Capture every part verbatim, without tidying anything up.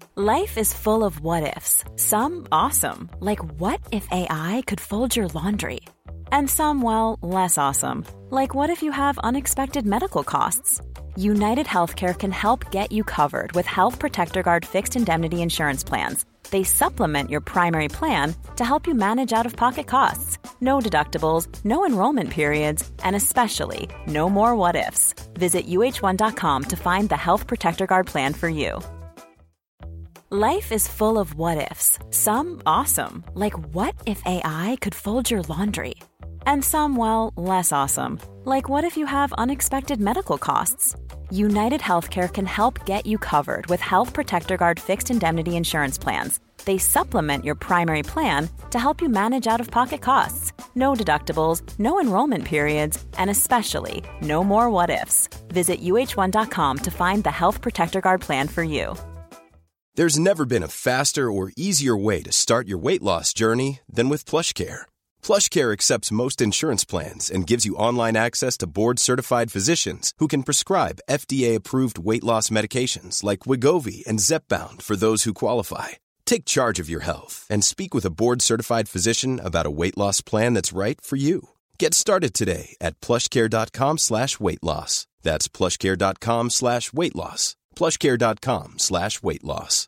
Life is full of what-ifs. Some awesome, like what if A I could fold your laundry? And some, well, less awesome, like what if you have unexpected medical costs? United Healthcare can help get you covered with Health Protector Guard fixed indemnity insurance plans. They supplement your primary plan to help you manage out-of-pocket costs. No deductibles, no enrollment periods, and especially no more what-ifs. Visit U H one dot com to find the Health Protector Guard plan for you. Life is full of what-ifs. Some awesome, like what if A I could fold your laundry? And some, well, less awesome, like what if you have unexpected medical costs? United Healthcare can help get you covered with Health Protector Guard fixed indemnity insurance plans. They supplement your primary plan to help you manage out-of-pocket costs. No deductibles, no enrollment periods, and especially no more what-ifs. Visit U H one dot com to find the Health Protector Guard plan for you. There's never been a faster or easier way to start your weight loss journey than with PlushCare. PlushCare accepts most insurance plans and gives you online access to board-certified physicians who can prescribe F D A-approved weight loss medications like Wegovy and Zepbound for those who qualify. Take charge of your health and speak with a board-certified physician about a weight loss plan that's right for you. Get started today at plushcare.com slash weight loss. That's plushcare.com slash weight loss. plushcare.com slash weight loss.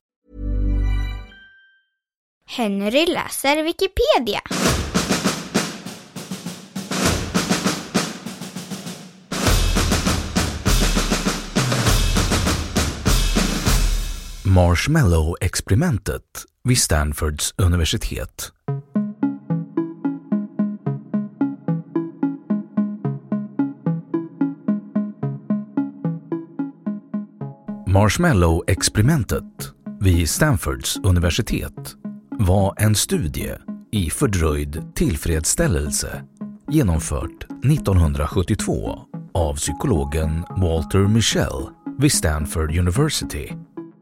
Henry läser Wikipedia. Marshmallow-experimentet vid Stanfords universitet. Marshmallow-experimentet vid Stanfords universitet var en studie i fördröjd tillfredsställelse genomfört nittonhundrasjuttiotvå av psykologen Walter Mischel vid Stanford University.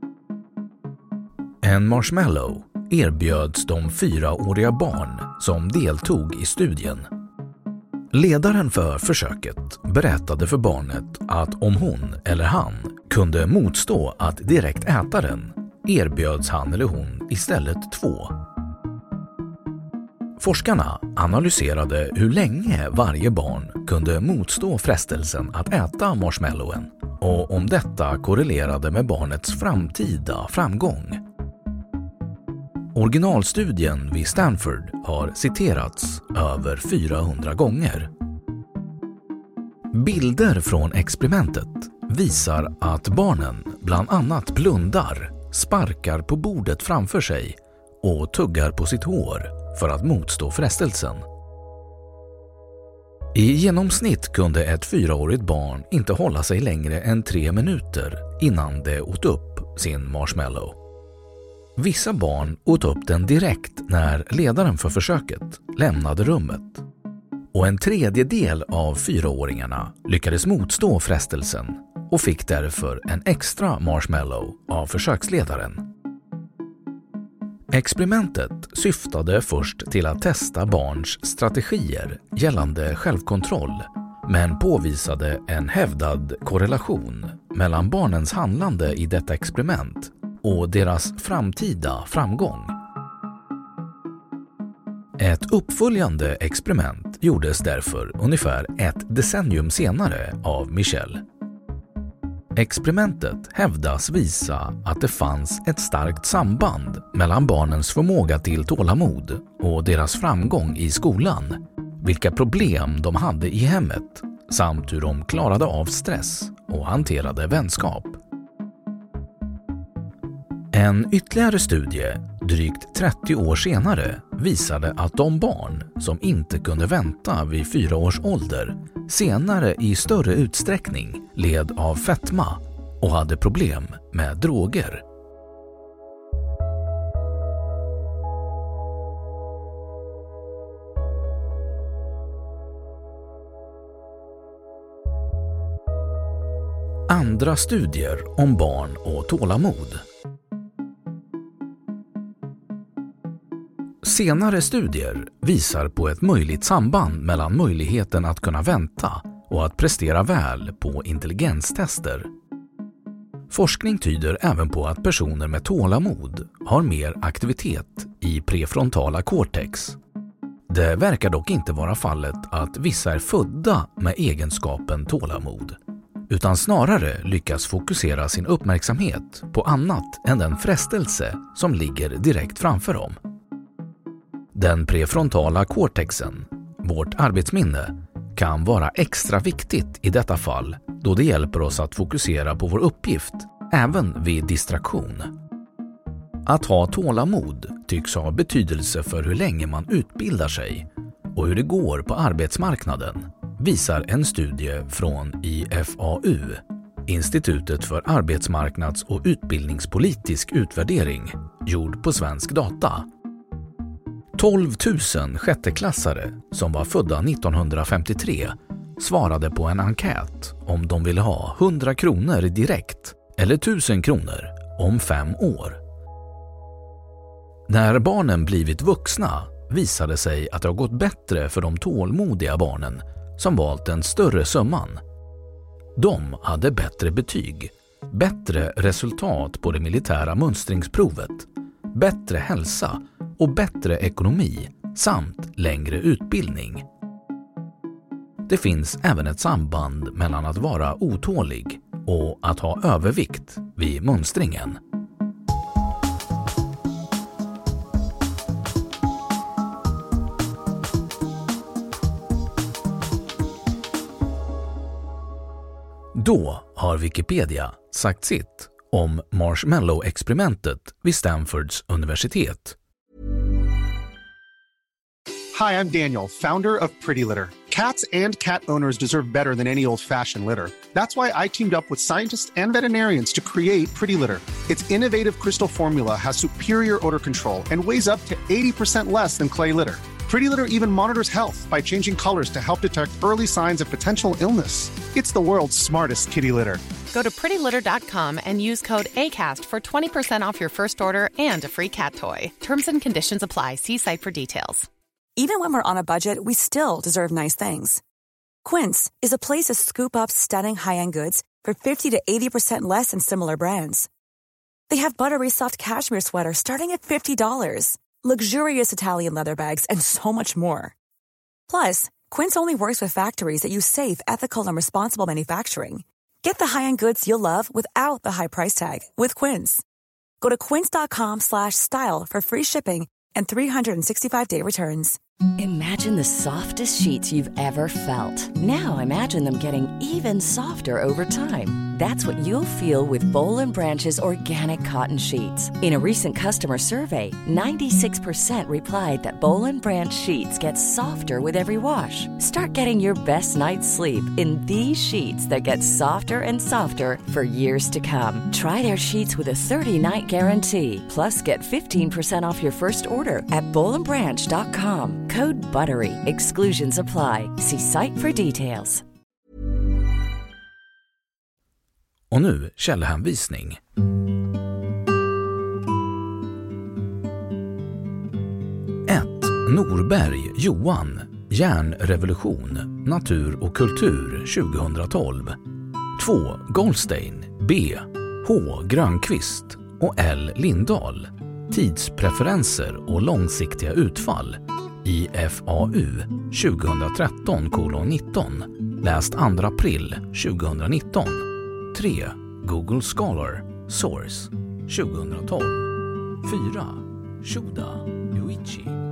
En marshmallow erbjöds de fyraåriga barn som deltog i studien. Ledaren för försöket berättade för barnet att om hon eller han kunde motstå att direkt äta den, erbjöds han eller hon istället två. Forskarna analyserade hur länge varje barn kunde motstå frestelsen att äta marshmallowen och om detta korrelerade med barnets framtida framgång. Originalstudien vid Stanford har citerats över fyrahundra gånger. Bilder från experimentet visar att barnen bland annat blundar, sparkar på bordet framför sig och tuggar på sitt hår för att motstå frestelsen. I genomsnitt kunde ett fyraårigt barn inte hålla sig längre än tre minuter innan det åt upp sin marshmallow. Vissa barn åt upp den direkt när ledaren för försöket lämnade rummet. Och en tredjedel av fyraåringarna lyckades motstå frestelsen och fick därför en extra marshmallow av försöksledaren. Experimentet syftade först till att testa barns strategier gällande självkontroll, men påvisade en hävdad korrelation mellan barnens handlande i detta experiment och deras framtida framgång. Ett uppföljande experiment gjordes därför ungefär ett decennium senare av Mischel. Experimentet hävdas visa att det fanns ett starkt samband mellan barnens förmåga till tålamod och deras framgång i skolan, vilka problem de hade i hemmet samt hur de klarade av stress och hanterade vänskap. En ytterligare studie, drygt trettio år senare, visade att de barn som inte kunde vänta vid fyra års ålder senare i större utsträckning led av fetma och hade problem med droger. Andra studier om barn och tålamod. Senare studier visar på ett möjligt samband mellan möjligheten att kunna vänta och att prestera väl på intelligenstester. Forskning tyder även på att personer med tålamod har mer aktivitet i prefrontala cortex. Det verkar dock inte vara fallet att vissa är födda med egenskapen tålamod, utan snarare lyckas fokusera sin uppmärksamhet på annat än den frestelse som ligger direkt framför dem. Den prefrontala cortexen, vårt arbetsminne, kan vara extra viktigt i detta fall då det hjälper oss att fokusera på vår uppgift även vid distraktion. Att ha tålamod tycks ha betydelse för hur länge man utbildar sig och hur det går på arbetsmarknaden, visar en studie från I F A U, Institutet för arbetsmarknads- och utbildningspolitisk utvärdering, gjord på svensk data. tolv tusen sjätteklassare som var födda nittonhundrafemtiotre svarade på en enkät om de ville ha hundra kronor direkt eller tusen kronor om fem år. När barnen blivit vuxna visade sig att det har gått bättre för de tålmodiga barnen som valt den större summan. De hade bättre betyg, bättre resultat på det militära mönstringsprovet, bättre hälsa och bättre ekonomi samt längre utbildning. Det finns även ett samband mellan att vara otålig och att ha övervikt vid mönstringen. Då har Wikipedia sagt sitt om Marshmallow-experimentet vid Stanfords universitet. Hi, I'm Daniel, founder of Pretty Litter. Cats and cat owners deserve better than any old-fashioned litter. That's why I teamed up with scientists and veterinarians to create Pretty Litter. Its innovative crystal formula has superior odor control and weighs up to eighty percent less than clay litter. Pretty Litter even monitors health by changing colors to help detect early signs of potential illness. It's the world's smartest kitty litter. Go to pretty litter dot com and use code ACAST for twenty percent off your first order and a free cat toy. Terms and conditions apply. See site for details. Even when we're on a budget, we still deserve nice things. Quince is a place to scoop up stunning high-end goods for fifty to eighty percent less than similar brands. They have buttery soft cashmere sweaters starting at fifty dollars, luxurious Italian leather bags, and so much more. Plus, Quince only works with factories that use safe, ethical, and responsible manufacturing. Get the high-end goods you'll love without the high price tag with Quince. Go to quince dot com slash style for free shipping and three sixty-five day returns. Imagine the softest sheets you've ever felt. Now imagine them getting even softer over time. That's what you'll feel with Boll and Branch's organic cotton sheets. In a recent customer survey, ninety-six percent replied that Boll and Branch sheets get softer with every wash. Start getting your best night's sleep in these sheets that get softer and softer for years to come. Try their sheets with a thirty night guarantee. Plus, get fifteen percent off your first order at boll and branch dot com. Code BUTTERY. Exclusions apply. See site for details. Och nu källhänvisning. ett. Norberg, Johan. Järnrevolution, natur och kultur tjugohundratolv. två. Goldstein, B. H. Grönqvist och L. Lindahl. Tidspreferenser och långsiktiga utfall. I F A U tjugotretton kolon nitton. Läst andra april tjugonitton. tre. Google Scholar Source tjugotolv. fyra. Shuda Yuichi.